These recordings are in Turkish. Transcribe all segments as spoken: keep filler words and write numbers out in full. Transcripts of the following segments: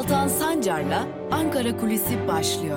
Altan Sancar'la Ankara Kulisi başlıyor.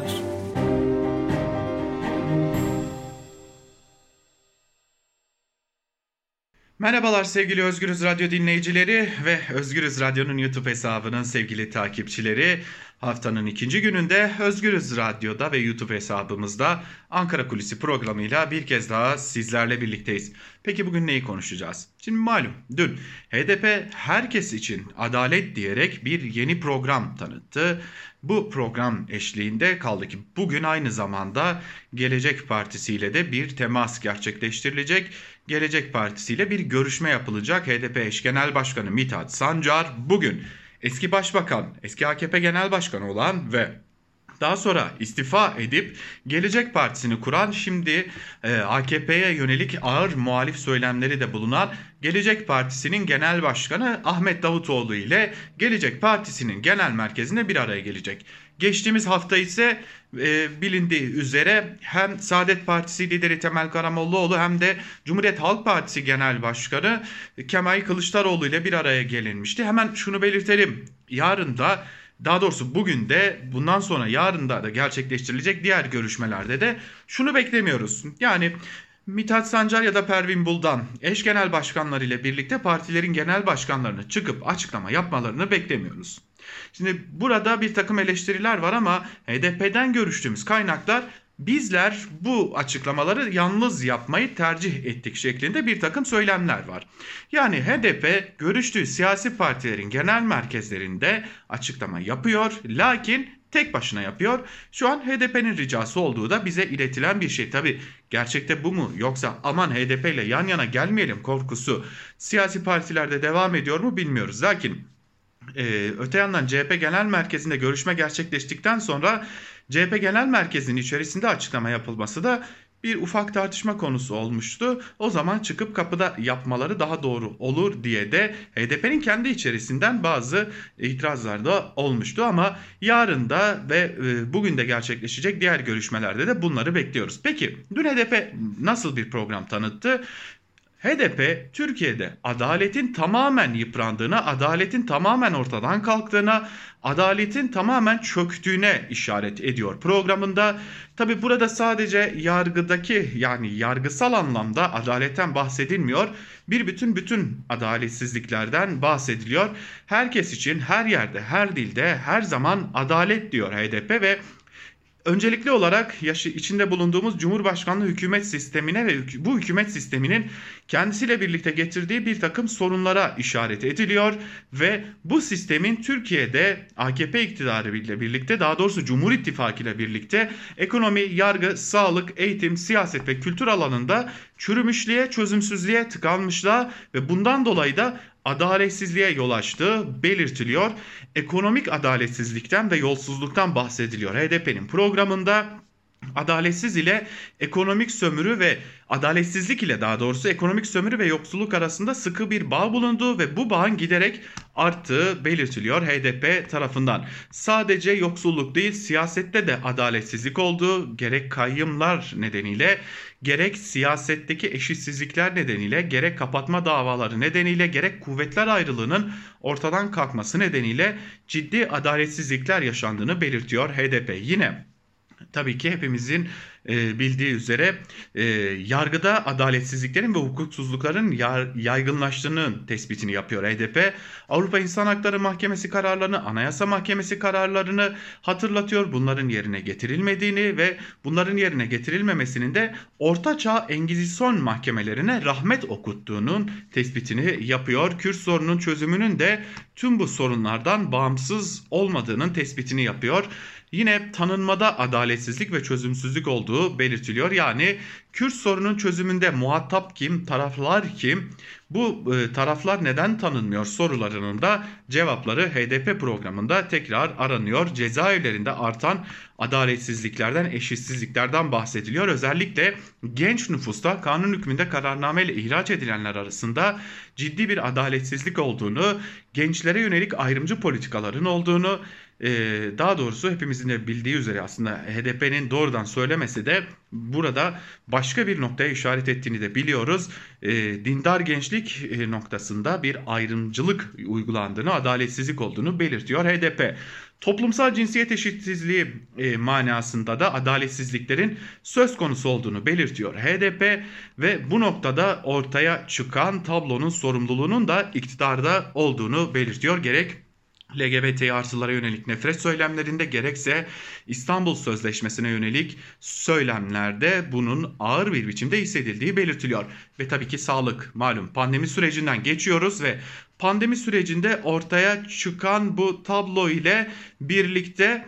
Merhabalar sevgili Özgürüz Radyo dinleyicileri ve Özgürüz Radyo'nun YouTube hesabının sevgili takipçileri. Haftanın ikinci gününde Özgürüz Radyo'da ve YouTube hesabımızda Ankara Kulisi programıyla bir kez daha sizlerle birlikteyiz. Peki bugün neyi konuşacağız? Şimdi malum dün H D P herkes için adalet diyerek bir yeni program tanıttı. Bu program eşliğinde kaldı ki bugün aynı zamanda Gelecek Partisi ile de bir temas gerçekleştirilecek. Gelecek Partisi ile bir görüşme yapılacak. H D P eş genel başkanı Mithat Sancar bugün eski başbakan, eski A K P genel başkanı olan ve daha sonra istifa edip Gelecek Partisi'ni kuran, şimdi e, A K P'ye yönelik ağır muhalif söylemleri de bulunan Gelecek Partisi'nin genel başkanı Ahmet Davutoğlu ile Gelecek Partisi'nin genel merkezinde bir araya gelecek. Geçtiğimiz hafta ise e, bilindiği üzere hem Saadet Partisi lideri Temel Karamollaoğlu hem de Cumhuriyet Halk Partisi Genel Başkanı Kemal Kılıçdaroğlu ile bir araya gelinmişti. Hemen şunu belirtelim. Yarın da, daha doğrusu bugün de, bundan sonra yarın da, da gerçekleştirilecek diğer görüşmelerde de şunu beklemiyoruz. Yani Mithat Sancar ya da Pervin Buldan eş genel başkanlar ile birlikte partilerin genel başkanlarını çıkıp açıklama yapmalarını beklemiyoruz. Şimdi burada bir takım eleştiriler var ama H D P'den görüştüğümüz kaynaklar bizler bu açıklamaları yalnız yapmayı tercih ettik şeklinde bir takım söylemler var. Yani H D P görüştüğü siyasi partilerin genel merkezlerinde açıklama yapıyor, lakin tek başına yapıyor. Şu an H D P'nin ricası olduğu da bize iletilen bir şey. Tabii gerçekte bu mu, yoksa aman H D P ile yan yana gelmeyelim korkusu siyasi partilerde devam ediyor mu bilmiyoruz. Lakin Ee, öte yandan C H P Genel Merkezi'nde görüşme gerçekleştikten sonra C H P Genel Merkezi'nin içerisinde açıklama yapılması da bir ufak tartışma konusu olmuştu. O zaman çıkıp kapıda yapmaları daha doğru olur diye de H D P'nin kendi içerisinden bazı itirazlar da olmuştu. Ama yarın da ve e, bugün de gerçekleşecek diğer görüşmelerde de bunları bekliyoruz. Peki dün H D P nasıl bir program tanıttı? H D P Türkiye'de adaletin tamamen yıprandığına, adaletin tamamen ortadan kalktığına, adaletin tamamen çöktüğüne işaret ediyor programında. Tabi burada sadece yargıdaki, yani yargısal anlamda adaletten bahsedilmiyor. Bir bütün bütün adaletsizliklerden bahsediliyor. Herkes için her yerde, her dilde, her zaman adalet diyor H D P ve öncelikli olarak yaşı içinde bulunduğumuz Cumhurbaşkanlığı hükümet sistemine ve bu hükümet sisteminin kendisiyle birlikte getirdiği bir takım sorunlara işaret ediliyor ve bu sistemin Türkiye'de A K P iktidarı ile birlikte, daha doğrusu Cumhur İttifakı ile birlikte ekonomi, yargı, sağlık, eğitim, siyaset ve kültür alanında çürümüşlüğe, çözümsüzlüğe, tıkanmışlığa ve bundan dolayı da adaletsizliğe yol açtığı belirtiliyor. Ekonomik adaletsizlikten ve yolsuzluktan bahsediliyor H D P'nin programında. Adaletsiz ile ekonomik sömürü ve adaletsizlik ile daha doğrusu ekonomik sömürü ve yoksulluk arasında sıkı bir bağ bulunduğu ve bu bağın giderek arttığı belirtiliyor H D P tarafından. Sadece yoksulluk değil, siyasette de adaletsizlik olduğu, gerek kayyımlar nedeniyle, gerek siyasetteki eşitsizlikler nedeniyle, gerek kapatma davaları nedeniyle, gerek kuvvetler ayrılığının ortadan kalkması nedeniyle ciddi adaletsizlikler yaşandığını belirtiyor H D P. Yine tabii ki hepimizin e, bildiği üzere e, yargıda adaletsizliklerin ve hukuksuzlukların yaygınlaştığının tespitini yapıyor H D P. Avrupa İnsan Hakları Mahkemesi kararlarını, Anayasa Mahkemesi kararlarını hatırlatıyor. Bunların yerine getirilmediğini ve bunların yerine getirilmemesinin de Ortaçağ Engizisyon mahkemelerine rahmet okuttuğunun tespitini yapıyor. Kürt sorunun çözümünün de tüm bu sorunlardan bağımsız olmadığının tespitini yapıyor. Yine tanınmada adaletsizlik ve çözümsüzlük olduğu belirtiliyor. Yani Kürt sorunun çözümünde muhatap kim, taraflar kim, bu e, taraflar neden tanınmıyor sorularının da cevapları H D P programında tekrar aranıyor. Cezaevlerinde artan adaletsizliklerden, eşitsizliklerden bahsediliyor. Özellikle genç nüfusta kanun hükmünde kararnameyle ihraç edilenler arasında ciddi bir adaletsizlik olduğunu, gençlere yönelik ayrımcı politikaların olduğunu, e, daha doğrusu hepimizin de bildiği üzere aslında H D P'nin doğrudan söylemesi de burada başka bir noktaya işaret ettiğini de biliyoruz. E, dindar gençlik e, noktasında bir ayrımcılık uygulandığını, adaletsizlik olduğunu belirtiyor H D P. Toplumsal cinsiyet eşitsizliği e, manasında da adaletsizliklerin söz konusu olduğunu belirtiyor H D P ve bu noktada ortaya çıkan tablonun sorumluluğunun da iktidarda olduğunu belirtiyor. Gerek L G B T artılara yönelik nefret söylemlerinde gerekse İstanbul Sözleşmesi'ne yönelik söylemlerde bunun ağır bir biçimde hissedildiği belirtiliyor. Ve tabii ki sağlık, malum pandemi sürecinden geçiyoruz ve pandemi sürecinde ortaya çıkan bu tablo ile birlikte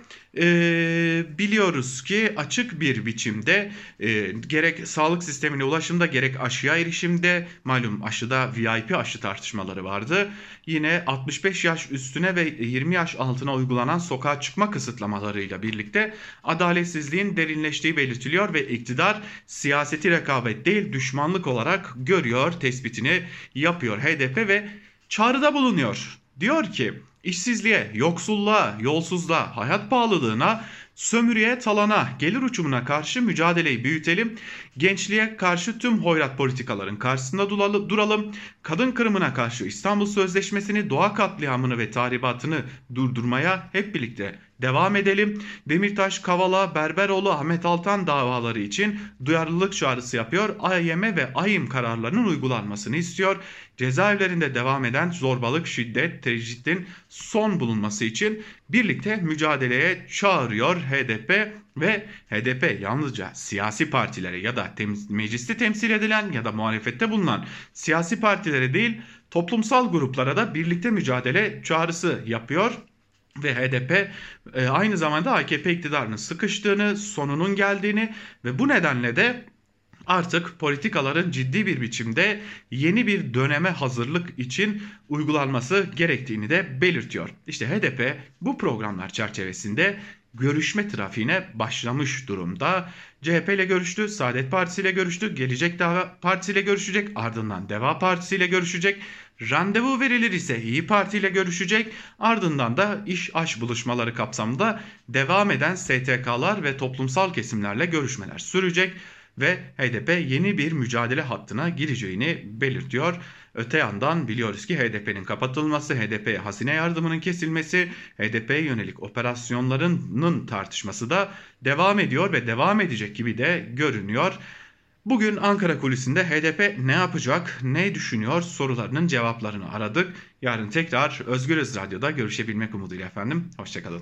e, biliyoruz ki açık bir biçimde e, gerek sağlık sistemine ulaşımda gerek aşıya erişimde, malum aşıda V I P aşı tartışmaları vardı. Yine altmış beş yaş üstüne ve yirmi yaş altına uygulanan sokağa çıkma kısıtlamalarıyla birlikte adaletsizliğin derinleştiği belirtiliyor ve iktidar siyaseti rekabet değil düşmanlık olarak görüyor, tespitini yapıyor H D P ve çağrıda bulunuyor. Diyor ki işsizliğe, yoksulluğa, yolsuzluğa, hayat pahalılığına, sömürüye, talana, gelir uçumuna karşı mücadeleyi büyütelim. Gençliğe karşı tüm hoyrat politikaların karşısında duralım. Kadın kırımına karşı İstanbul Sözleşmesi'ni, doğa katliamını ve tahribatını durdurmaya hep birlikte devam edelim. Demirtaş, Kavala, Berberoğlu, Ahmet Altan davaları için duyarlılık çağrısı yapıyor. A Y M ve A Y M kararlarının uygulanmasını istiyor. Cezaevlerinde devam eden zorbalık, şiddet, tecritin son bulunması için birlikte mücadeleye çağırıyor H D P ve H D P yalnızca siyasi partilere ya da tem- mecliste temsil edilen ya da muhalefette bulunan siyasi partilere değil toplumsal gruplara da birlikte mücadele çağrısı yapıyor. Ve H D P e, aynı zamanda A K P iktidarının sıkıştığını, sonunun geldiğini ve bu nedenle de artık politikaların ciddi bir biçimde yeni bir döneme hazırlık için uygulanması gerektiğini de belirtiyor. İşte H D P bu programlar çerçevesinde görüşme trafiğine başlamış durumda. C H P ile görüştü, Saadet Partisi ile görüştü, Gelecek Deva Partisi ile görüşecek, ardından Deva Partisi ile görüşecek. Randevu verilir ise İyi Parti ile görüşecek, ardından da iş aş buluşmaları kapsamında devam eden S T K'lar ve toplumsal kesimlerle görüşmeler sürecek ve H D P yeni bir mücadele hattına gireceğini belirtiyor. Öte yandan biliyoruz ki H D P'nin kapatılması, H D P'ye hazine yardımının kesilmesi, H D P'ye yönelik operasyonlarının tartışması da devam ediyor ve devam edecek gibi de görünüyor. Bugün Ankara kulisinde H D P ne yapacak, ne düşünüyor sorularının cevaplarını aradık. Yarın tekrar Özgürüz Radyo'da görüşebilmek umuduyla efendim. Hoşçakalın.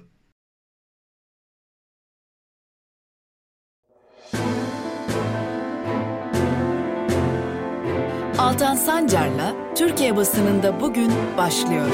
Altan Sancar'la Türkiye basınında bugün başlıyor.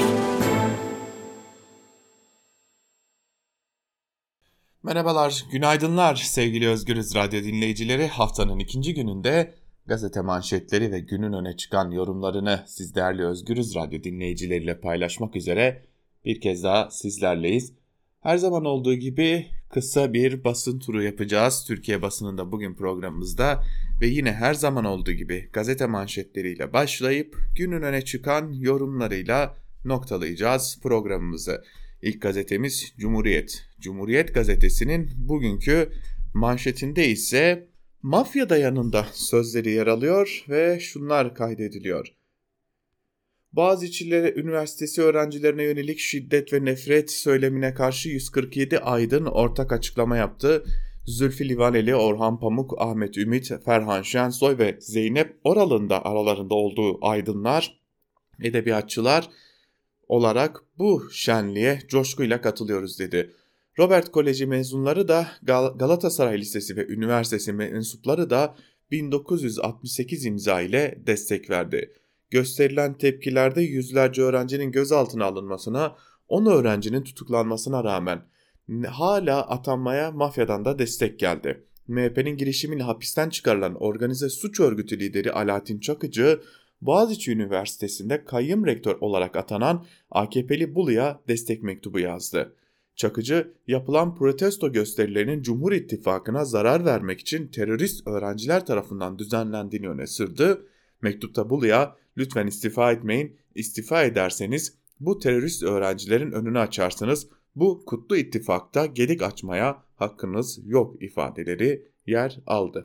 Merhabalar, günaydınlar sevgili Özgürüz Radyo dinleyicileri. Haftanın ikinci gününde gazete manşetleri ve günün öne çıkan yorumlarını siz değerli Özgürüz Radyo dinleyicileriyle paylaşmak üzere bir kez daha sizlerleyiz. Her zaman olduğu gibi kısa bir basın turu yapacağız Türkiye basınında bugün programımızda ve yine her zaman olduğu gibi gazete manşetleriyle başlayıp günün öne çıkan yorumlarıyla noktalayacağız programımızı. İlk gazetemiz Cumhuriyet. Cumhuriyet gazetesinin bugünkü manşetinde ise mafya dayanında sözleri yer alıyor ve şunlar kaydediliyor. Boğaziçi Üniversitesi öğrencilerine yönelik şiddet ve nefret söylemine karşı yüz kırk yedi aydın ortak açıklama yaptı. Zülfü Livaneli, Orhan Pamuk, Ahmet Ümit, Ferhan Şensoy ve Zeynep Oral'ın da aralarında olduğu aydınlar, edebiyatçılar olarak bu şenliğe coşkuyla katılıyoruz dedi. Robert Koleji mezunları da Gal- Galatasaray Lisesi ve üniversitesi mensupları da bin dokuz yüz altmış sekiz imza ile destek verdi. Gösterilen tepkilerde yüzlerce öğrencinin gözaltına alınmasına, on öğrencinin tutuklanmasına rağmen hala atanmaya mafyadan da destek geldi. M H P'nin girişimiyle hapisten çıkarılan organize suç örgütü lideri Alaaddin Çakıcı, Boğaziçi Üniversitesi'nde kayyum rektör olarak atanan A K P'li Bulu'ya destek mektubu yazdı. Çakıcı, yapılan protesto gösterilerinin Cumhur İttifakı'na zarar vermek için terörist öğrenciler tarafından düzenlendiğini öne sürdü. Mektupta Bulu'ya lütfen istifa etmeyin, istifa ederseniz bu terörist öğrencilerin önünü açarsınız, Bu kutlu ittifakta gedik açmaya hakkınız yok ifadeleri yer aldı.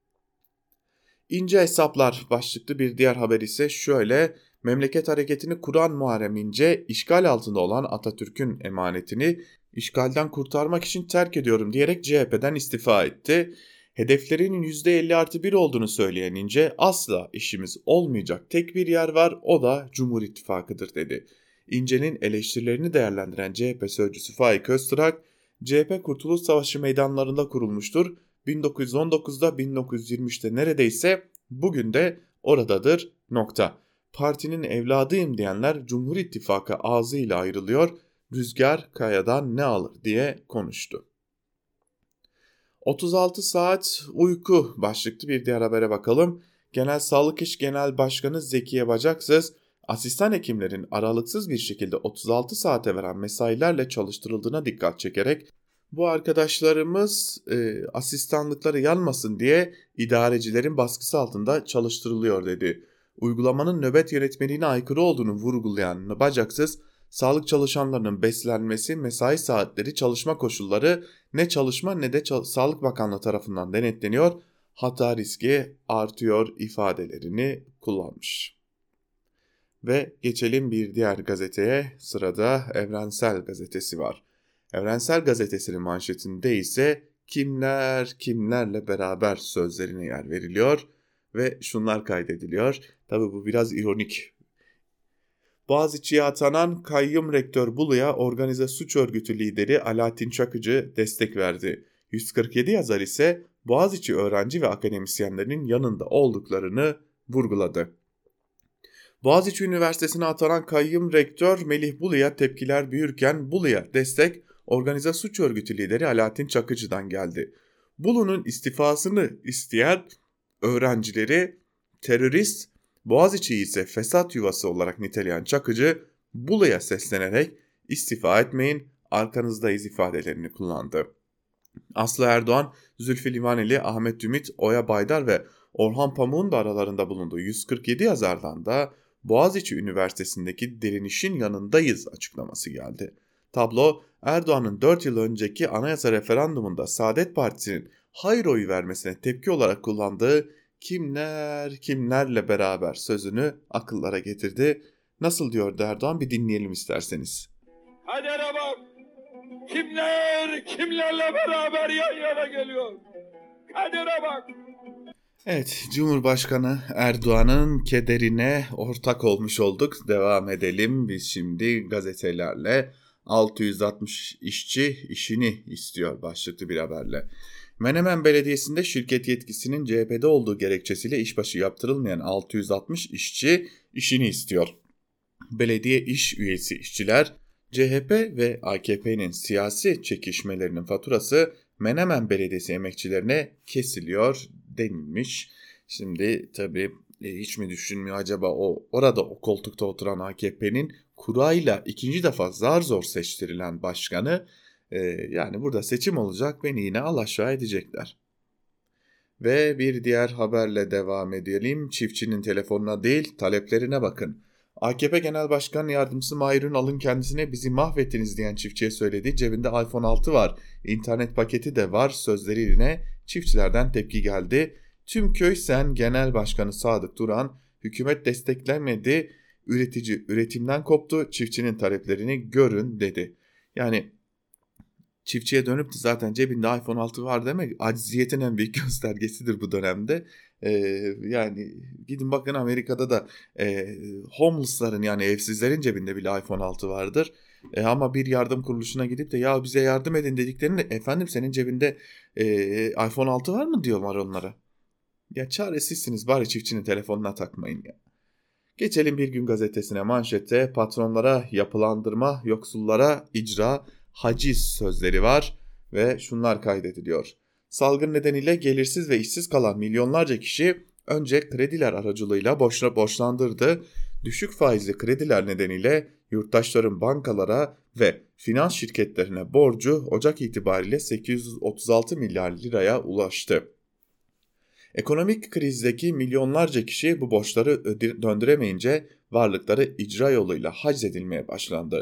İnce hesaplar başlıklı bir diğer haber ise şöyle: memleket hareketini kuran Muharrem İnce, işgal altında olan Atatürk'ün emanetini işgalden kurtarmak için terk ediyorum diyerek C H P'den istifa etti. Hedeflerinin yüzde elli artı bir olduğunu söyleyen İnce, asla işimiz olmayacak tek bir yer var, o da Cumhur İttifakı'dır dedi. İnce'nin eleştirilerini değerlendiren C H P sözcüsü Faik Öztürk, C H P Kurtuluş Savaşı meydanlarında kurulmuştur. bin dokuz yüz on dokuzda bin dokuz yüz yirmi üçte neredeyse bugün de oradadır nokta. Partinin evladıyım diyenler Cumhur İttifakı ağzıyla ayrılıyor, rüzgar kayadan ne alır diye konuştu. otuz altı saat uyku başlıklı bir diğer habere bakalım. Genel Sağlık İş Genel Başkanı Zekiye Bacaksız, asistan hekimlerin aralıksız bir şekilde otuz altı saate veren mesailerle çalıştırıldığına dikkat çekerek, bu arkadaşlarımız e, asistanlıkları yanmasın diye idarecilerin baskısı altında çalıştırılıyor dedi. Uygulamanın nöbet yönetmeliğine aykırı olduğunu vurgulayan Bacaksız, sağlık çalışanlarının beslenmesi, mesai saatleri, çalışma koşulları ne çalışma ne de Çal- Sağlık Bakanlığı tarafından denetleniyor, hata riski artıyor ifadelerini kullanmış. Ve geçelim bir diğer gazeteye. Sırada Evrensel Gazetesi var. Evrensel Gazetesi'nin manşetinde ise kimler kimlerle beraber sözlerine yer veriliyor ve şunlar kaydediliyor. Tabii bu biraz ironik. Boğaziçi'ye atanan kayyum rektör Bulu'ya organize suç örgütü lideri Alaaddin Çakıcı destek verdi. yüz kırk yedi yazar ise Boğaziçi öğrenci ve akademisyenlerinin yanında olduklarını vurguladı. Boğaziçi Üniversitesi'ne atanan kayyum rektör Melih Bulu'ya tepkiler büyürken Bulu'ya destek organize suç örgütü lideri Alaaddin Çakıcı'dan geldi. Bulu'nun istifasını isteyen öğrencileri terörist, Boğaziçi'yi ise fesat yuvası olarak niteleyen Çakıcı, Bulu'ya seslenerek istifa etmeyin, arkanızdayız ifadelerini kullandı. Aslı Erdoğan, Zülfü Livaneli, Ahmet Ümit, Oya Baydar ve Orhan Pamuk'un da aralarında bulunduğu yüz kırk yedi yazardan da Boğaziçi Üniversitesi'ndeki direnişin yanındayız açıklaması geldi. Tablo, Erdoğan'ın dört yıl önceki anayasa referandumunda Saadet Partisi'nin hayır oyu vermesine tepki olarak kullandığı kimler kimlerle beraber sözünü akıllara getirdi. Nasıl diyor Erdoğan, bir dinleyelim isterseniz. Kadere bak, kimler kimlerle beraber yan yana geliyor. Kadere bak. Evet, Cumhurbaşkanı Erdoğan'ın kederine ortak olmuş olduk. Devam edelim biz şimdi gazetelerle. altı yüz altmış işçi işini istiyor başlıklı bir haberle. Menemen Belediyesi'nde şirket yetkisinin C H P'de olduğu gerekçesiyle işbaşı yaptırılmayan altı yüz altmış işçi işini istiyor. Belediye iş üyesi işçiler, C H P ve A K P'nin siyasi çekişmelerinin faturası Menemen Belediyesi emekçilerine kesiliyor denilmiş. Şimdi tabii hiç mi düşünmüyor acaba o orada o koltukta oturan A K P'nin kurayla ikinci defa zar zor seçtirilen başkanı, e, yani burada seçim olacak, beni yine alaşağı edecekler. Ve bir diğer haberle devam edelim. Çiftçinin telefonuna değil taleplerine bakın. A K P Genel Başkan Yardımcısı Mahir Ünal'ın kendisine bizi mahvettiniz diyen çiftçiye söylediği cebinde iPhone altı var, internet paketi de var sözleriyle çiftçilerden tepki geldi. Tüm köy sen Genel Başkanı Sadık Duran, hükümet desteklemedi, üretici üretimden koptu, çiftçinin taleplerini görün dedi. Yani çiftçiye dönüp de zaten cebinde iPhone altı var demek acziyetin en büyük göstergesidir bu dönemde. Ee, yani gidin bakın Amerika'da da e, homeless'ların yani evsizlerin cebinde bile iPhone altı vardır. E, ama bir yardım kuruluşuna gidip de ya bize yardım edin dediklerinde efendim senin cebinde e, iPhone altı var mı diyorlar onlara. Ya çaresizsiniz, bari çiftçinin telefonuna takmayın ya. Geçelim Bir Gün Gazetesi'ne. Manşette patronlara yapılandırma, yoksullara icra, haciz sözleri var ve şunlar kaydediliyor. Salgın nedeniyle gelirsiz ve işsiz kalan milyonlarca kişi önce krediler aracılığıyla borçla borçlandırdı. Düşük faizli krediler nedeniyle yurttaşların bankalara ve finans şirketlerine borcu Ocak itibariyle sekiz yüz otuz altı milyar liraya ulaştı. Ekonomik krizdeki milyonlarca kişi bu borçları döndüremeyince varlıkları icra yoluyla haczedilmeye başlandı.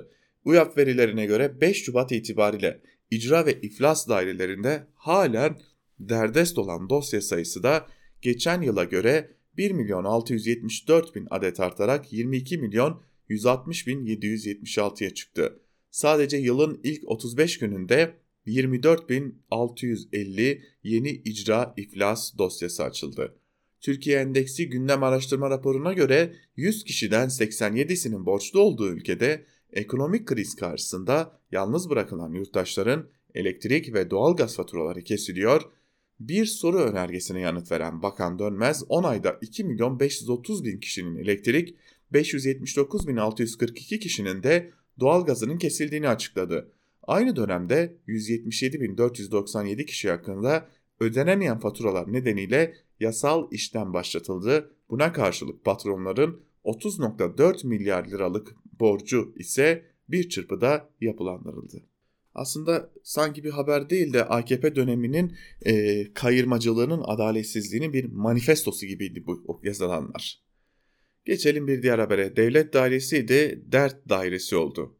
UYAP verilerine göre beş Şubat itibariyle icra ve iflas dairelerinde halen derdest olan dosya sayısı da geçen yıla göre bir milyon altı yüz yetmiş dört bin adet artarak yirmi iki milyon yüz altmış bin yedi yüz yetmiş altıya çıktı. Sadece yılın ilk otuz beş gününde yirmi dört bin altı yüz elli yeni icra iflas dosyası açıldı. Türkiye Endeksi Gündem Araştırma raporuna göre yüz kişiden seksen yedisinin borçlu olduğu ülkede ekonomik kriz karşısında yalnız bırakılan yurttaşların elektrik ve doğalgaz faturaları kesiliyor. Bir soru önergesine yanıt veren Bakan Dönmez on ayda iki milyon beş yüz otuz bin kişinin elektrik, beş yüz yetmiş dokuz bin altı yüz kırk iki kişinin de doğalgazının kesildiğini açıkladı. Aynı dönemde yüz yetmiş yedi bin dört yüz doksan yedi kişi hakkında ödenemeyen faturalar nedeniyle yasal işlem başlatıldı. Buna karşılık patronların otuz virgül dört milyar liralık borcu ise bir çırpıda yapılandırıldı. Aslında sanki bir haber değil de A K P döneminin e, kayırmacılığının, adaletsizliğinin bir manifestosu gibiydi bu yazılanlar. Geçelim bir diğer habere. Devlet dairesi de dert dairesi oldu.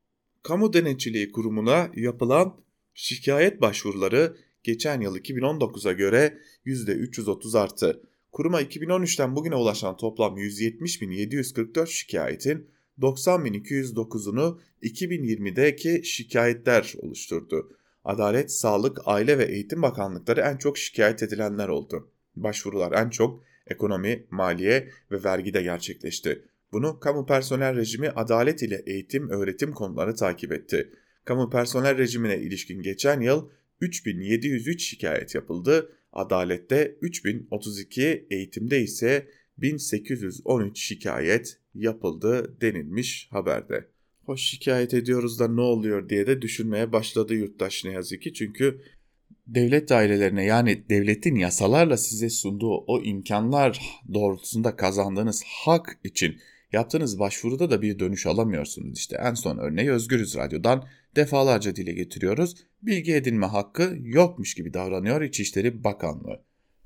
Kamu Denetçiliği Kurumu'na yapılan şikayet başvuruları geçen yıl iki bin on dokuza göre yüzde üç yüz otuz arttı. Kuruma iki bin on üçten bugüne ulaşan toplam yüz yetmiş bin yedi yüz kırk dört şikayetin doksan bin iki yüz dokuzunu iki bin yirmideki şikayetler oluşturdu. Adalet, Sağlık, Aile ve Eğitim Bakanlıkları en çok şikayet edilenler oldu. Başvurular en çok ekonomi, maliye ve vergide gerçekleşti. Bunu kamu personel rejimi, adalet ile eğitim, öğretim konuları takip etti. Kamu personel rejimine ilişkin geçen yıl üç bin yedi yüz üç şikayet yapıldı. Adalette üç bin otuz iki, eğitimde ise bin sekiz yüz on üç şikayet yapıldı denilmiş haberde. Hoş şikayet ediyoruz da ne oluyor diye de düşünmeye başladı yurttaş ne yazık ki. Çünkü devlet dairelerine, yani devletin yasalarla size sunduğu o imkanlar doğrultusunda kazandığınız hak için yaptığınız başvuruda da bir dönüş alamıyorsunuz. İşte en son örneği Özgürüz Radyo'dan defalarca dile getiriyoruz. Bilgi edinme hakkı yokmuş gibi davranıyor İçişleri Bakanlığı.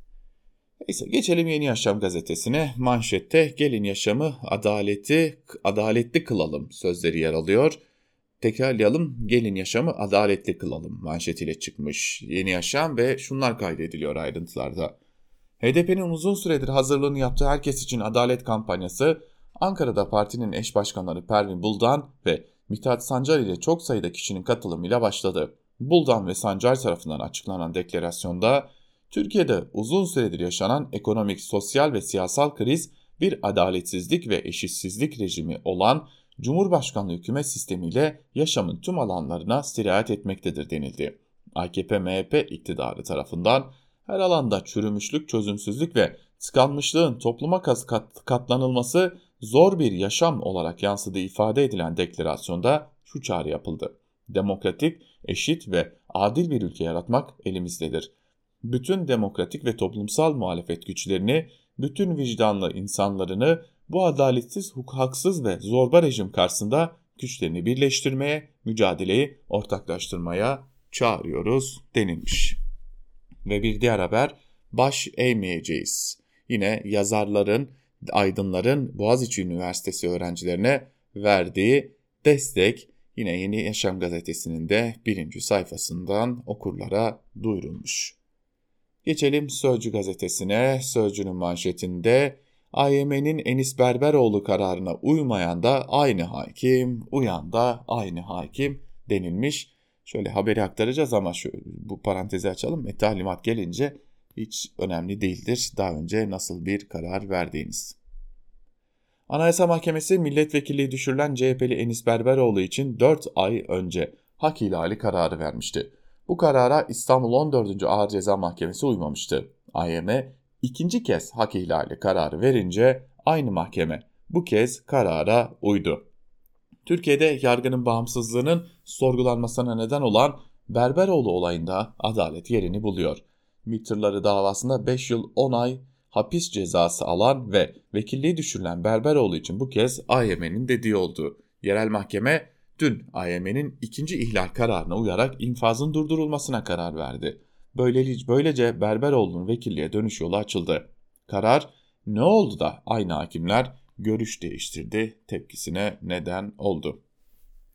Neyse, geçelim Yeni Yaşam gazetesine. Manşette gelin yaşamı adaleti adaletli kılalım sözleri yer alıyor. Tekrarlayalım, gelin yaşamı adaletli kılalım manşetiyle çıkmış Yeni Yaşam ve şunlar kaydediliyor ayrıntılarda. H D P'nin uzun süredir hazırlığını yaptığı Herkes İçin Adalet kampanyası Ankara'da partinin eş başkanları Pervin Buldan ve Mithat Sancar ile çok sayıda kişinin katılımıyla başladı. Buldan ve Sancar tarafından açıklanan deklarasyonda Türkiye'de uzun süredir yaşanan ekonomik, sosyal ve siyasal kriz bir adaletsizlik ve eşitsizlik rejimi olan Cumhurbaşkanlığı hükümet sistemiyle yaşamın tüm alanlarına sirayet etmektedir denildi. A K P M H P iktidarı tarafından her alanda çürümüşlük, çözümsüzlük ve tıkanmışlığın topluma kat- katlanılması zor bir yaşam olarak yansıdığı ifade edilen deklarasyonda şu çağrı yapıldı. Demokratik, eşit ve adil bir ülke yaratmak elimizdedir. Bütün demokratik ve toplumsal muhalefet güçlerini, bütün vicdanlı insanlarını bu adaletsiz, haksız ve zorba rejim karşısında güçlerini birleştirmeye, mücadeleyi ortaklaştırmaya çağırıyoruz denilmiş. Ve bir diğer haber, baş eğmeyeceğiz. Yine yazarların, aydınların Boğaziçi Üniversitesi öğrencilerine verdiği destek yine Yeni Yaşam gazetesinin de birinci sayfasından okurlara duyurulmuş. Geçelim Sözcü gazetesine. Sözcü'nün manşetinde A Y M'nin Enis Berberoğlu kararına uymayan da aynı hakim, uyan da aynı hakim denilmiş. Şöyle haberi aktaracağız ama şu, bu parantezi açalım. E, talimat gelince hiç önemli değildir daha önce nasıl bir karar verdiğiniz. Anayasa Mahkemesi milletvekilliği düşürülen C H P'li Enis Berberoğlu için dört ay önce hak ihlali kararı vermişti. Bu karara İstanbul on dördüncü Ağır Ceza Mahkemesi uymamıştı. A Y M ikinci kez hak ihlali kararı verince aynı mahkeme bu kez karara uydu. Türkiye'de yargının bağımsızlığının sorgulanmasına neden olan Berberoğlu olayında adalet yerini buluyor. MİT tırları davasında beş yıl on ay hapis cezası alan ve vekilliği düşürülen Berberoğlu için bu kez A Y M'nin dediği oldu. Yerel mahkeme dün A Y M'nin ikinci ihlal kararına uyarak infazın durdurulmasına karar verdi. Böylece, böylece Berberoğlu'nun vekilliğe dönüş yolu açıldı. Karar ne oldu da aynı hakimler görüş değiştirdi tepkisine neden oldu.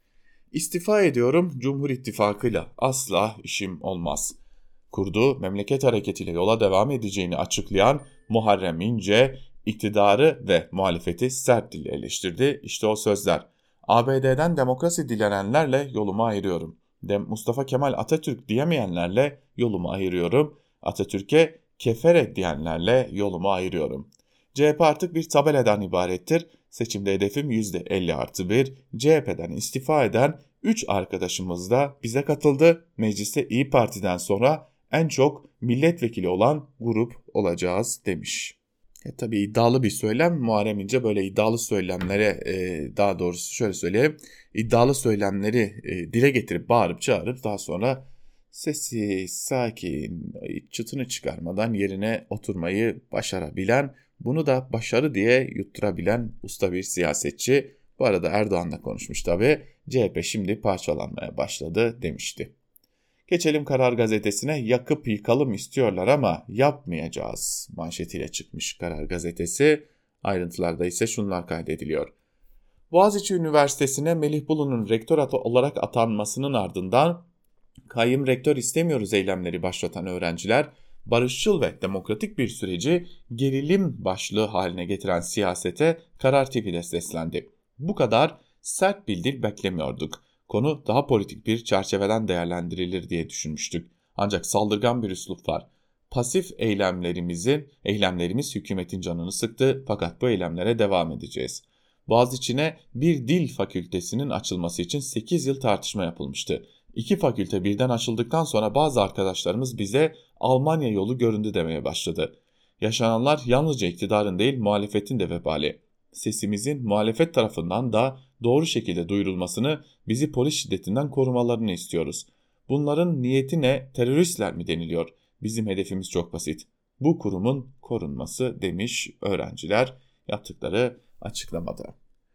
İstifa ediyorum, Cumhur İttifakı'yla asla işim olmaz. Kurduğu memleket hareketiyle yola devam edeceğini açıklayan Muharrem İnce, iktidarı ve muhalefeti sert dille eleştirdi. İşte o sözler. A B D'den demokrasi dilenenlerle yolumu ayırıyorum. De Mustafa Kemal Atatürk diyemeyenlerle yolumu ayırıyorum. Atatürk'e kefere diyenlerle yolumu ayırıyorum. C H P artık bir tabeladan ibarettir. Seçimde hedefim yüzde elli artı bir. C H P'den istifa eden üç arkadaşımız da bize katıldı. Mecliste İyi Parti'den sonra en çok milletvekili olan grup olacağız demiş. E, tabii iddialı bir söylem. Muharrem İnce böyle iddialı söylemlere, e, daha doğrusu şöyle söyleyeyim, iddialı söylemleri e, dile getirip bağırıp çağırıp daha sonra sessiz, sakin, çıtını çıkarmadan yerine oturmayı başarabilen, bunu da başarı diye yutturabilen usta bir siyasetçi. Bu arada Erdoğan'la konuşmuş tabii. C H P şimdi parçalanmaya başladı demişti. Geçelim Karar Gazetesi'ne. Yakıp yıkalım istiyorlar ama yapmayacağız manşetiyle çıkmış Karar Gazetesi. Ayrıntılarda ise şunlar kaydediliyor. Boğaziçi Üniversitesi'ne Melih Bulu'nun rektör olarak atanmasının ardından kayyum rektör istemiyoruz eylemleri başlatan öğrenciler, barışçıl ve demokratik bir süreci gerilim başlığı haline getiren siyasete Karar T V'de seslendi. Bu kadar sert bir dil beklemiyorduk. Konu daha politik bir çerçeveden değerlendirilir diye düşünmüştük. Ancak saldırgan bir üslup var. Pasif eylemlerimizin, eylemlerimiz hükümetin canını sıktı fakat bu eylemlere devam edeceğiz. Boğaziçi'ne bir dil fakültesinin açılması için sekiz yıl tartışma yapılmıştı. İki fakülte birden açıldıktan sonra bazı arkadaşlarımız bize Almanya yolu göründü demeye başladı. Yaşananlar yalnızca iktidarın değil muhalefetin de vebali. Sesimizin muhalefet tarafından da doğru şekilde duyurulmasını, bizi polis şiddetinden korumalarını istiyoruz. Bunların niyeti ne, teröristler mi deniliyor? Bizim hedefimiz çok basit. Bu kurumun korunması demiş öğrenciler yaptıkları açıklamada.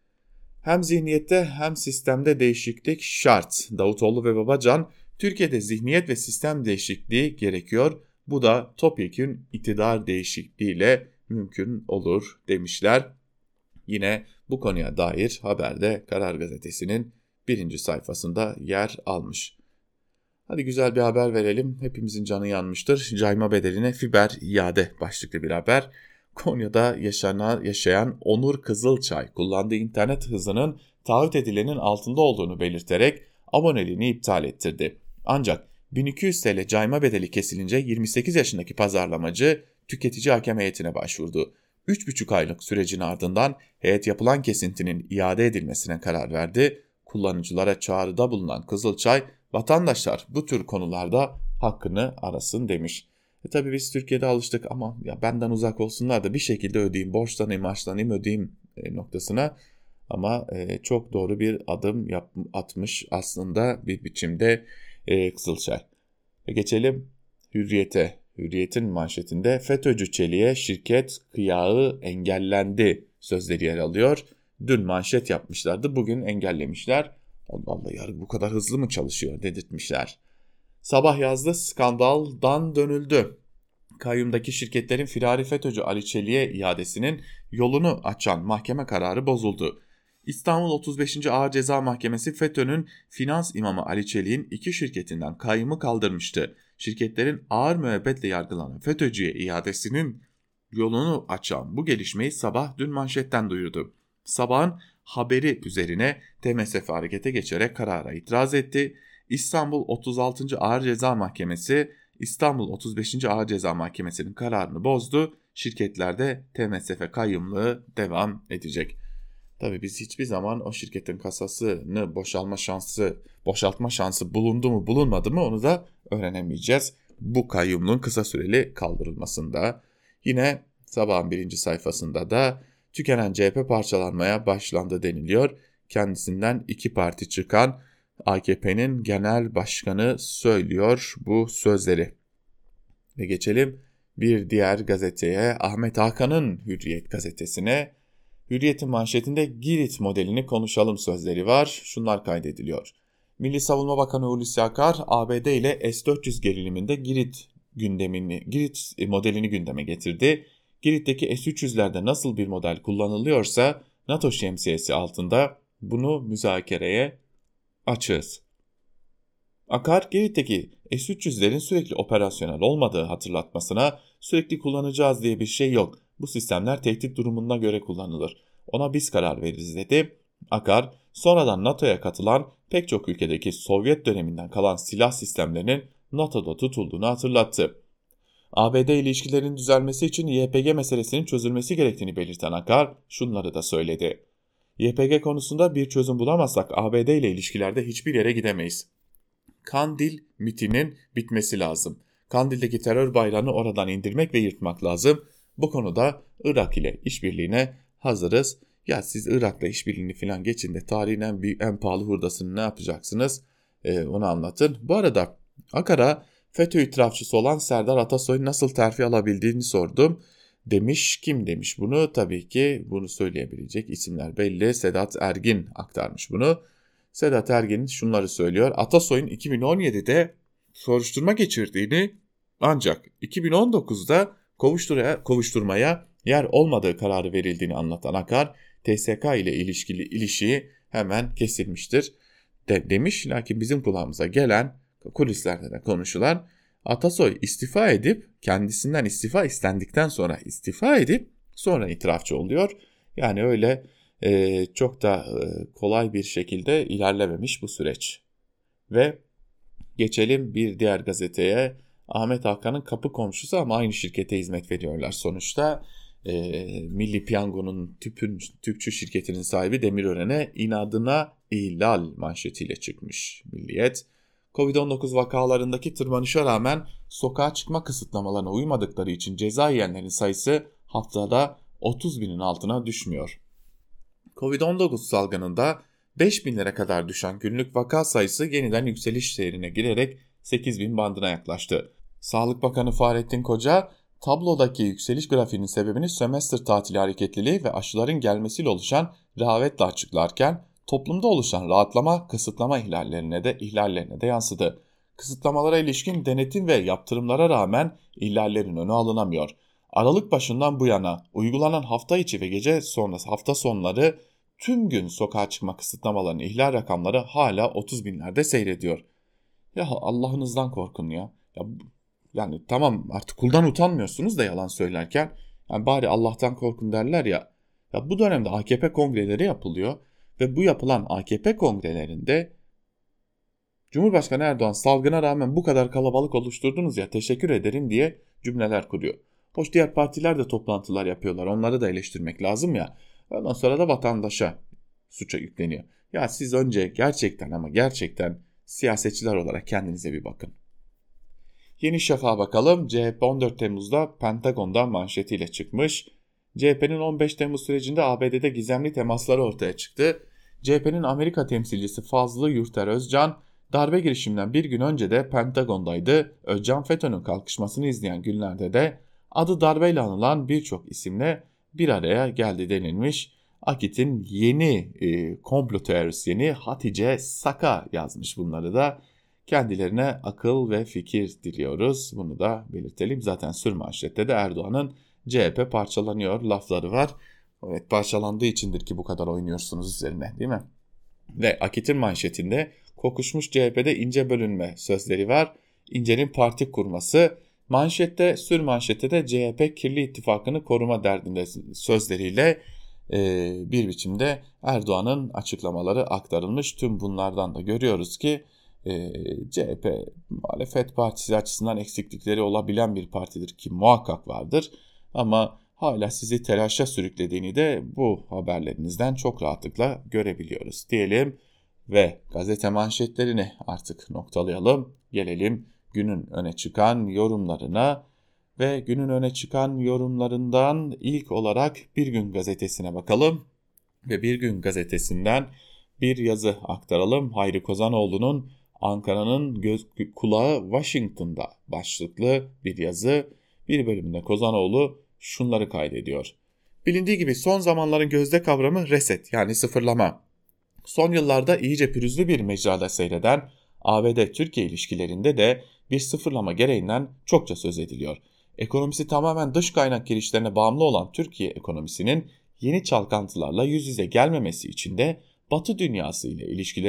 Hem zihniyette hem sistemde değişiklik şart. Davutoğlu ve Babacan, Türkiye'de zihniyet ve sistem değişikliği gerekiyor. Bu da topyekün iktidar değişikliğiyle mümkün olur demişler. Yine bu konuya dair haberde Karar Gazetesi'nin birinci sayfasında yer almış. Hadi güzel bir haber verelim. Hepimizin canı yanmıştır. Cayma bedeline fiber iade başlıklı bir haber. Konya'da yaşanan, yaşayan Onur Kızılçay kullandığı internet hızının taahhüt edilenin altında olduğunu belirterek aboneliğini iptal ettirdi. Ancak bin iki yüz TL cayma bedeli kesilince yirmi sekiz yaşındaki pazarlamacı tüketici hakem heyetine başvurdu. üç buçuk aylık sürecin ardından heyet yapılan kesintinin iade edilmesine karar verdi. Kullanıcılara çağrıda bulunan Kızılçay, vatandaşlar bu tür konularda hakkını arasın demiş. E tabii biz Türkiye'de alıştık ama ya benden uzak olsunlar da bir şekilde ödeyeyim, borçlanayım, harçlanayım, ödeyeyim e, noktasına. Ama e, çok doğru bir adım yap, atmış aslında bir biçimde e, Kızılçay. E, geçelim Hürriyet'e. Hürriyet'in manşetinde FETÖ'cü Çelik'e şirket kıyağı engellendi sözleri yer alıyor. Dün manşet yapmışlardı, bugün engellemişler. Allah Allah, yargı bu kadar hızlı mı çalışıyor dedirtmişler. Sabah yazdı, skandaldan dönüldü. Kayyumdaki şirketlerin firari FETÖ'cü Ali Çelik'e iadesinin yolunu açan mahkeme kararı bozuldu. İstanbul otuz beşinci Ağır Ceza Mahkemesi FETÖ'nün finans imamı Ali Çelik'in iki şirketinden kayyumu kaldırmıştı. Şirketlerin ağır müebbetle yargılanan FETÖ'cüye iadesinin yolunu açan bu gelişmeyi Sabah dün manşetten duyurdu. Sabah'ın haberi üzerine T M S F harekete geçerek karara itiraz etti. İstanbul otuz altıncı Ağır Ceza Mahkemesi İstanbul otuz beşinci Ağır Ceza Mahkemesi'nin kararını bozdu. Şirketlerde T M S F kayyumluğu devam edecek. Tabii biz hiçbir zaman o şirketin kasasını boşalma şansı, boşaltma şansı bulundu mu bulunmadı mı onu da öğrenemeyeceğiz. Bu kayyumluğun kısa süreli kaldırılmasında. Yine Sabah'ın birinci sayfasında da tükenen C H P parçalanmaya başlandı deniliyor. Kendisinden iki parti çıkan A K P'nin genel başkanı söylüyor bu sözleri. Ve geçelim bir diğer gazeteye, Ahmet Hakan'ın Hürriyet gazetesine. Hürriyet'in manşetinde Girit modelini konuşalım sözleri var. Şunlar kaydediliyor. Milli Savunma Bakanı Hulusi Akar, A B D ile S dört yüz geriliminde Girit gündemini, Girit modelini gündeme getirdi. Girit'teki S üç yüzlerde nasıl bir model kullanılıyorsa NATO şemsiyesi altında bunu müzakereye açığız. Akar, Girit'teki S üç yüzlerin sürekli operasyonel olmadığı hatırlatmasına sürekli kullanacağız diye bir şey yok. Bu sistemler tehdit durumuna göre kullanılır. Ona biz karar veririz dedi. Akar, sonradan NATO'ya katılan pek çok ülkedeki Sovyet döneminden kalan silah sistemlerinin NATO'da tutulduğunu hatırlattı. A B D ilişkilerin düzelmesi için Y P G meselesinin çözülmesi gerektiğini belirten Akar şunları da söyledi. Y P G konusunda bir çözüm bulamazsak A B D ile ilişkilerde hiçbir yere gidemeyiz. Kandil mitinin bitmesi lazım. Kandil'deki terör bayrağını oradan indirmek ve yırtmak lazım. Bu konuda Irak ile işbirliğine hazırız. Ya siz Irak'la işbirliğini falan geçin de tarihin en, büyük, en pahalı hurdasını ne yapacaksınız? Ee, onu anlatın. Bu arada Akar'a FETÖ itirafçısı olan Serdar Atasoy'un nasıl terfi alabildiğini sordum. Demiş, kim demiş bunu? Tabii ki bunu söyleyebilecek isimler belli. Sedat Ergin aktarmış bunu. Sedat Ergin şunları söylüyor. Atasoy'un iki bin on yedide soruşturma geçirdiğini ancak iki bin on dokuzda kovuşturmaya yer olmadığı kararı verildiğini anlatan Akar, T S K ile ilişkili ilişiği hemen kesilmiştir de, demiş. Lakin bizim kulağımıza gelen, kulislerde de konuşulan, Atasoy istifa edip kendisinden istifa istendikten sonra istifa edip sonra itirafçı oluyor. Yani öyle e, çok da e, kolay bir şekilde ilerlememiş bu süreç. Ve geçelim bir diğer gazeteye. Ahmet Hakan'ın kapı komşusu ama aynı şirkete hizmet veriyorlar sonuçta. E, Milli Piyango'nun tüpün, tüpçü şirketinin sahibi Demirören'e inadına ihlal manşetiyle çıkmış Milliyet. kovid on dokuz vakalarındaki tırmanışa rağmen sokağa çıkma kısıtlamalarına uymadıkları için ceza yiyenlerin sayısı haftada otuz binin altına düşmüyor. kovid on dokuz salgınında beş binlere kadar düşen günlük vaka sayısı yeniden yükseliş seyrine girerek sekiz bin bandına yaklaştı. Sağlık Bakanı Fahrettin Koca, tablodaki yükseliş grafiğinin sebebini sömestr tatili hareketliliği ve aşıların gelmesiyle oluşan rehavetle açıklarken, toplumda oluşan rahatlama kısıtlama ihlallerine de ihlallerine de yansıdı. Kısıtlamalara ilişkin denetim ve yaptırımlara rağmen ihlallerin önü alınamıyor. Aralık başından bu yana uygulanan hafta içi ve gece sonrası hafta sonları tüm gün sokağa çıkma kısıtlamalarının ihlal rakamları hala otuz binlerde seyrediyor. Ya Allah'ınızdan korkun ya. Ya yani tamam, artık kuldan utanmıyorsunuz da yalan söylerken. Yani bari Allah'tan korkun derler ya. Ya bu dönemde A K P kongreleri yapılıyor. Ve bu yapılan A K P kongrelerinde Cumhurbaşkanı Erdoğan salgına rağmen bu kadar kalabalık oluşturdunuz ya, teşekkür ederim diye cümleler kuruyor. Hoş diğer partiler de toplantılar yapıyorlar, onları da eleştirmek lazım ya. Ondan sonra da vatandaşa suça yükleniyor. Ya siz önce gerçekten ama gerçekten siyasetçiler olarak kendinize bir bakın. Yeni Şafak'a bakalım. C H P on dört Temmuz'da Pentagon'dan manşetiyle çıkmış. C H P'nin on beş Temmuz sürecinde A B D'de gizemli temasları ortaya çıktı. C H P'nin Amerika temsilcisi Fazlı Yurter Özcan, darbe girişiminden bir gün önce de Pentagon'daydı. Özcan, FETÖ'nün kalkışmasını izleyen günlerde de adı darbeyle anılan birçok isimle bir araya geldi denilmiş. Akit'in yeni e, komplo teorisyeni Hatice Saka yazmış bunları da. Kendilerine akıl ve fikir diliyoruz. Bunu da belirtelim. Zaten sürmanşette de Erdoğan'ın C H P parçalanıyor lafları var. Evet, parçalandığı içindir ki bu kadar oynuyorsunuz üzerine, değil mi? Ve Akit'in manşetinde kokuşmuş C H P'de ince bölünme sözleri var. İnce'nin parti kurması. Manşette, sür manşette de C H P kirli ittifakını koruma derdinde sözleriyle e, bir biçimde Erdoğan'ın açıklamaları aktarılmış. Tüm bunlardan da görüyoruz ki e, C H P muhalefet partisi açısından eksiklikleri olabilen bir partidir ki muhakkak vardır. Ama hala sizi telaşa sürüklediğini de bu haberlerinizden çok rahatlıkla görebiliyoruz diyelim ve gazete manşetlerini artık noktalayalım. Gelelim günün öne çıkan yorumlarına ve günün öne çıkan yorumlarından ilk olarak Bir Gün Gazetesi'ne bakalım ve Bir Gün Gazetesi'nden bir yazı aktaralım. Hayri Kozanoğlu'nun Ankara'nın göz kulağı Washington'da başlıklı bir yazı. Bir bölümünde Kozanoğlu şunları kaydediyor. Bilindiği gibi son zamanların gözde kavramı reset, yani sıfırlama. Son yıllarda iyice pürüzlü bir mecrada seyreden A B D-Türkiye ilişkilerinde de bir sıfırlama gereğinden çokça söz ediliyor. Ekonomisi tamamen dış kaynak girişlerine bağımlı olan Türkiye ekonomisinin yeni çalkantılarla yüz yüze gelmemesi için de Batı dünyası ile ilişkilerin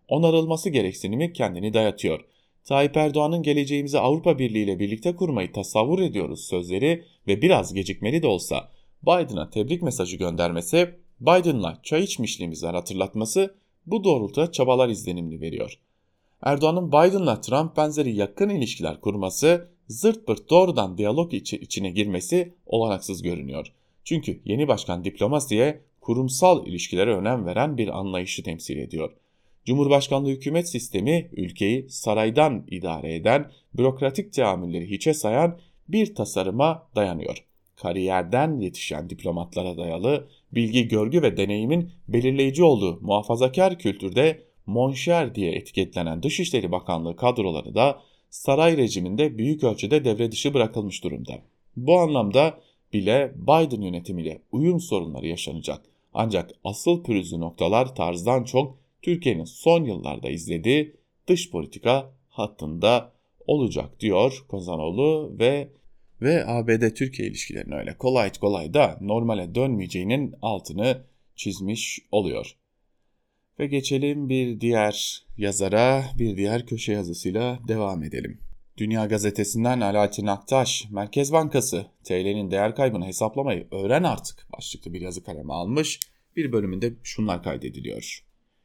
onarılması gereksinimi kendini dayatıyor. Tayyip Erdoğan'ın geleceğimizi Avrupa Birliği ile birlikte kurmayı tasavvur ediyoruz sözleri ve biraz gecikmeli de olsa Biden'a tebrik mesajı göndermesi, Biden'la çay içmişliğimizi hatırlatması bu doğrultuda çabalar izlenimli veriyor. Erdoğan'ın Biden'la Trump benzeri yakın ilişkiler kurması, zırt pırt doğrudan diyalog içi, içine girmesi olanaksız görünüyor. Çünkü yeni başkan diplomasiye, kurumsal ilişkilere önem veren bir anlayışı temsil ediyor. Cumhurbaşkanlığı hükümet sistemi ülkeyi saraydan idare eden, bürokratik teamülleri hiçe sayan bir tasarıma dayanıyor. Kariyerden yetişen diplomatlara dayalı, bilgi, görgü ve deneyimin belirleyici olduğu muhafazakar kültürde monşer diye etiketlenen Dışişleri Bakanlığı kadroları da saray rejiminde büyük ölçüde devre dışı bırakılmış durumda. Bu anlamda bile Biden yönetimiyle uyum sorunları yaşanacak. Ancak asıl pürüzlü noktalar tarzdan çok Türkiye'nin son yıllarda izlediği dış politika hattında olacak diyor Kozanoğlu ve ve A B D-Türkiye ilişkilerinin öyle kolay kolay da normale dönmeyeceğinin altını çizmiş oluyor. Ve geçelim bir diğer yazara, bir diğer köşe yazısıyla devam edelim. Dünya Gazetesi'nden Alaaddin Aktaş, Merkez Bankası T L'nin değer kaybını hesaplamayı öğren artık başlıklı bir yazı kaleme almış. Bir bölümünde şunlar kaydediliyor.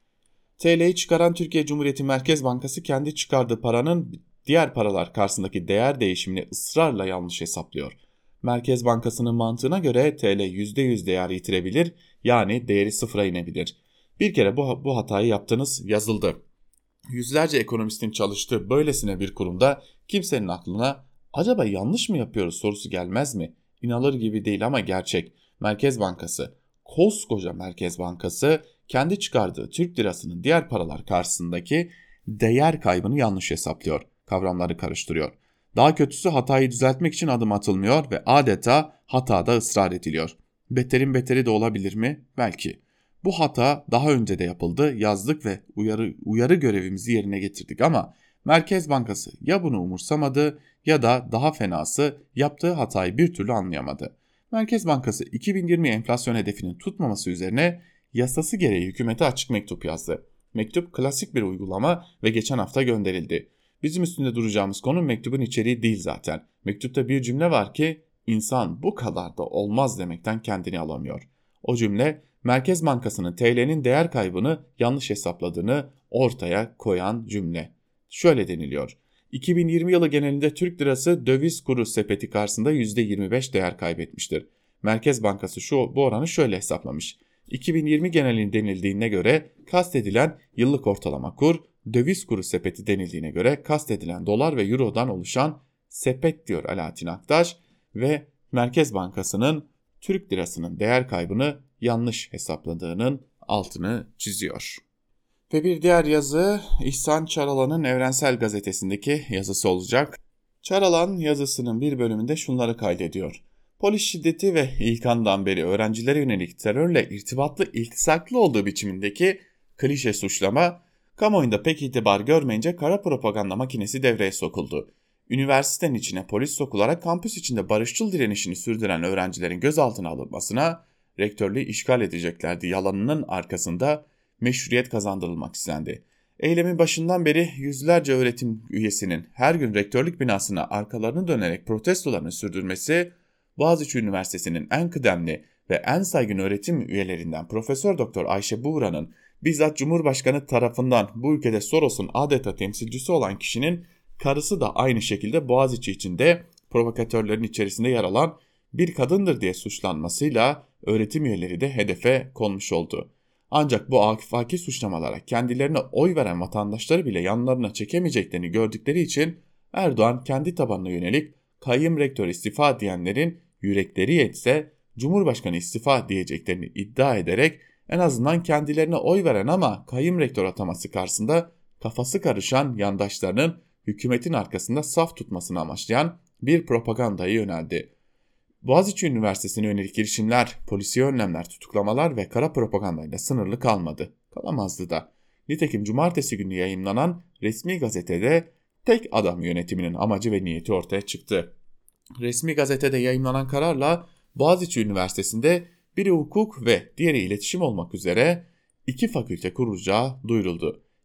T L'yi çıkaran Türkiye Cumhuriyeti Merkez Bankası kendi çıkardığı paranın diğer paralar karşısındaki değer değişimini ısrarla yanlış hesaplıyor. Merkez Bankası'nın mantığına göre T L yüzde yüz değer yitirebilir, yani değeri sıfıra inebilir. Bir kere bu, bu hatayı yaptınız, yazıldı. Yüzlerce ekonomistin çalıştığı böylesine bir kurumda kimsenin aklına acaba yanlış mı yapıyoruz sorusu gelmez mi? İnanılır gibi değil ama gerçek. Merkez Bankası, koskoca Merkez Bankası kendi çıkardığı Türk lirasının diğer paralar karşısındaki değer kaybını yanlış hesaplıyor. Kavramları karıştırıyor. Daha kötüsü hatayı düzeltmek için adım atılmıyor ve adeta hatada ısrar ediliyor. Beterin beteri de olabilir mi? Belki. Bu hata daha önce de yapıldı, yazdık ve uyarı, uyarı görevimizi yerine getirdik ama Merkez Bankası ya bunu umursamadı ya da daha fenası yaptığı hatayı bir türlü anlayamadı. Merkez Bankası iki bin yirmi enflasyon hedefinin tutmaması üzerine yasası gereği hükümete açık mektup yazdı. Mektup klasik bir uygulama ve geçen hafta gönderildi. Bizim üstünde duracağımız konu mektubun içeriği değil zaten. Mektupta bir cümle var ki insan bu kadar da olmaz demekten kendini alamıyor. O cümle Merkez Bankası'nın T L'nin değer kaybını yanlış hesapladığını ortaya koyan cümle. Şöyle deniliyor. iki bin yirmi yılı genelinde Türk lirası döviz kuru sepeti karşısında yüzde yirmi beş değer kaybetmiştir. Merkez Bankası şu bu oranı şöyle hesaplamış. iki bin yirmi genelin denildiğine göre kastedilen yıllık ortalama kur, döviz kuru sepeti denildiğine göre kastedilen dolar ve eurodan oluşan sepet diyor Alaaddin Aktaş ve Merkez Bankası'nın Türk lirasının değer kaybını yanlış hesapladığının altını çiziyor. Ve bir diğer yazı İhsan Çaralan'ın Evrensel Gazetesi'ndeki yazısı olacak. Çaralan yazısının bir bölümünde şunları kaydediyor. Polis şiddeti ve ilk andan beri öğrencilere yönelik terörle irtibatlı iltisaklı olduğu biçimindeki klişe suçlama, kamuoyunda pek itibar görmeyince kara propaganda makinesi devreye sokuldu. Üniversitenin içine polis sokularak kampüs içinde barışçıl direnişini sürdüren öğrencilerin gözaltına alınmasına, rektörlüğü işgal edeceklerdi yalanının arkasında meşruiyet kazandırılmak istendi. Eylemin başından beri yüzlerce öğretim üyesinin her gün rektörlük binasına arkalarını dönerek protestolarını sürdürmesi, Boğaziçi Üniversitesi'nin en kıdemli ve en saygın öğretim üyelerinden Profesör Doktor Ayşe Buğra'nın bizzat Cumhurbaşkanı tarafından bu ülkede Soros'un adeta temsilcisi olan kişinin karısı da aynı şekilde Boğaziçi içinde provokatörlerin içerisinde yer alan bir kadındır diye suçlanmasıyla öğretim üyeleri de hedefe konmuş oldu. Ancak bu afaki suçlamalara kendilerine oy veren vatandaşları bile yanlarına çekemeyeceklerini gördükleri için Erdoğan kendi tabanına yönelik kayyum rektör istifa diyenlerin yürekleri yetse Cumhurbaşkanı istifa diyeceklerini iddia ederek en azından kendilerine oy veren ama kayyum rektör ataması karşısında kafası karışan yandaşlarının hükümetin arkasında saf tutmasını amaçlayan bir propagandaya yöneldi. Boğaziçi Üniversitesi'ne yönelik girişimler, polisiye önlemler, tutuklamalar ve kara propagandayla sınırlı kalmadı. Kalamazdı da. Nitekim cumartesi günü yayımlanan resmi gazetede tek adam yönetiminin amacı ve niyeti ortaya çıktı. Resmi gazetede yayımlanan kararla Boğaziçi Üniversitesi'nde biri hukuk ve diğeri iletişim olmak üzere iki fakülte kurulacağı duyuruldu.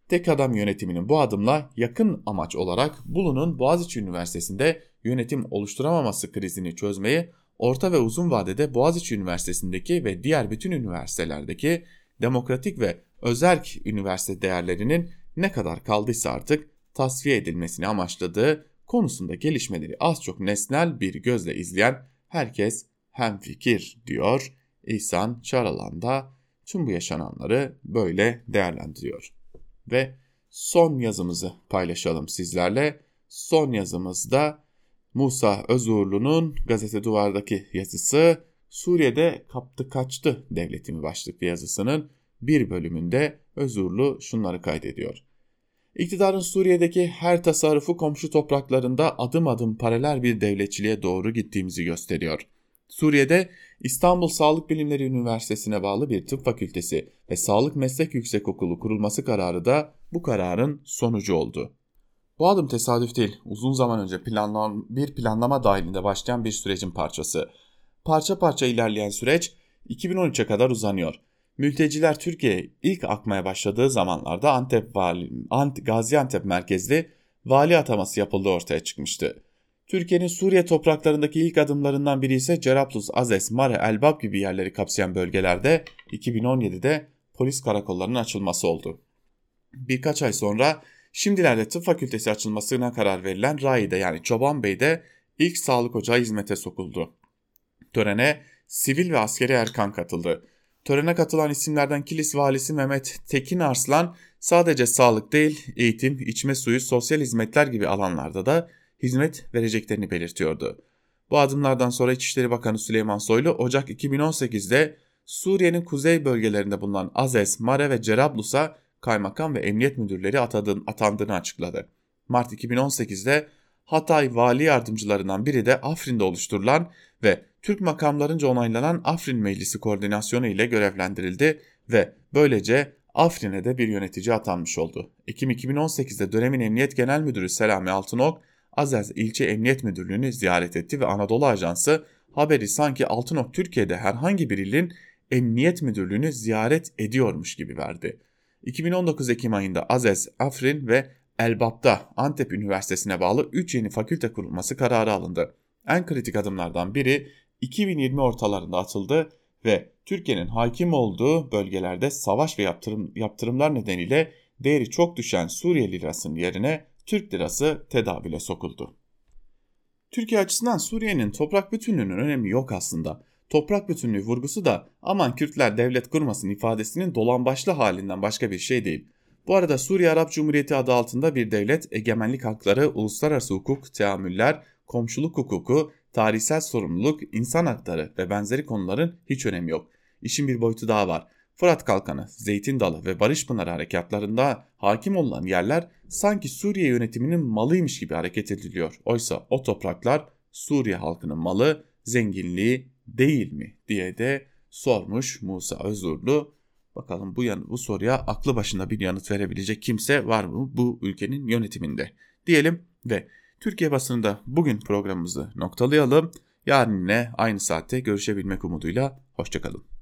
Tek adam yönetiminin bu adımla yakın amaç olarak Bolu'nun Boğaziçi Üniversitesi'nde yönetim oluşturamaması krizini çözmeyi, orta ve uzun vadede Boğaziçi Üniversitesi'ndeki ve diğer bütün üniversitelerdeki demokratik ve özerk üniversite değerlerinin ne kadar kaldıysa artık tasfiye edilmesini amaçladığı konusunda gelişmeleri az çok nesnel bir gözle izleyen herkes hemfikir diyor. İhsan Çaralan da tüm bu yaşananları böyle değerlendiriyor. Ve son yazımızı paylaşalım sizlerle. Son yazımızda Musa Özuğurlu'nun Gazete Duvar'daki yazısı, Suriye'de kaptı kaçtı devletimi başlıklı yazısının bir bölümünde Özuğurlu şunları kaydediyor. İktidarın Suriye'deki her tasarrufu komşu topraklarında adım adım paralel bir devletçiliğe doğru gittiğimizi gösteriyor. Suriye'de İstanbul Sağlık Bilimleri Üniversitesi'ne bağlı bir tıp fakültesi ve Sağlık Meslek Yüksekokulu kurulması kararı da bu kararın sonucu oldu. Bu adım tesadüf değil, uzun zaman önce planlan bir planlama dahilinde başlayan bir sürecin parçası. Parça parça ilerleyen süreç iki bin on üçe kadar uzanıyor. Mülteciler Türkiye'ye ilk akmaya başladığı zamanlarda Antep vali, Ant, Gaziantep merkezli vali ataması yapıldığı ortaya çıkmıştı. Türkiye'nin Suriye topraklarındaki ilk adımlarından biri ise Cerablus, Azez, Mare, Elbap gibi yerleri kapsayan bölgelerde iki bin on yedide polis karakollarının açılması oldu. Birkaç ay sonra şimdilerde tıp fakültesi açılmasına karar verilen Rai'de yani Çobanbey'de ilk sağlık ocağı hizmete sokuldu. Törene sivil ve askeri erkan katıldı. Törene katılan isimlerden Kilis valisi Mehmet Tekin Arslan sadece sağlık değil, eğitim, içme suyu, sosyal hizmetler gibi alanlarda da hizmet vereceklerini belirtiyordu. Bu adımlardan sonra İçişleri Bakanı Süleyman Soylu Ocak iki bin on sekizde Suriye'nin kuzey bölgelerinde bulunan Azez, Mare ve Cerablus'a kaymakam ve emniyet müdürleri atandığını açıkladı. Mart iki bin on sekizde Hatay vali yardımcılarından biri de Afrin'de oluşturulan ve Türk makamlarınca onaylanan Afrin Meclisi koordinasyonu ile görevlendirildi ve böylece Afrin'e de bir yönetici atanmış oldu. Ekim iki bin on sekizde dönemin Emniyet Genel Müdürü Selami Altınok, Azez İlçe Emniyet Müdürlüğü'nü ziyaret etti ve Anadolu Ajansı haberi sanki Altınok Türkiye'de herhangi bir ilin Emniyet Müdürlüğü'nü ziyaret ediyormuş gibi verdi. iki bin on dokuz Ekim ayında Azez, Afrin ve Elbap'ta Antep Üniversitesi'ne bağlı üç yeni fakülte kurulması kararı alındı. En kritik adımlardan biri iki bin yirmi ortalarında atıldı ve Türkiye'nin hakim olduğu bölgelerde savaş ve yaptırım, yaptırımlar nedeniyle değeri çok düşen Suriye lirasının yerine Türk lirası tedavüle sokuldu. Türkiye açısından Suriye'nin toprak bütünlüğünün önemi yok aslında. Toprak bütünlüğü vurgusu da aman Kürtler devlet kurmasın ifadesinin dolambaçlı halinden başka bir şey değil. Bu arada Suriye Arap Cumhuriyeti adı altında bir devlet, egemenlik hakları, uluslararası hukuk, teamüller, komşuluk hukuku, tarihsel sorumluluk, insan hakları ve benzeri konuların hiç önemi yok. İşin bir boyutu daha var. Fırat Kalkanı, Zeytin Dalı ve Barış Pınarı harekatlarında hakim olan yerler sanki Suriye yönetiminin malıymış gibi hareket ediliyor. Oysa o topraklar Suriye halkının malı, zenginliği değil mi diye de sormuş Musa Özurlu. Bakalım bu, yan- bu soruya aklı başında bir yanıt verebilecek kimse var mı bu ülkenin yönetiminde diyelim ve Türkiye basınında bugün programımızı noktalayalım. Yarın yine aynı saatte görüşebilmek umuduyla hoşçakalın.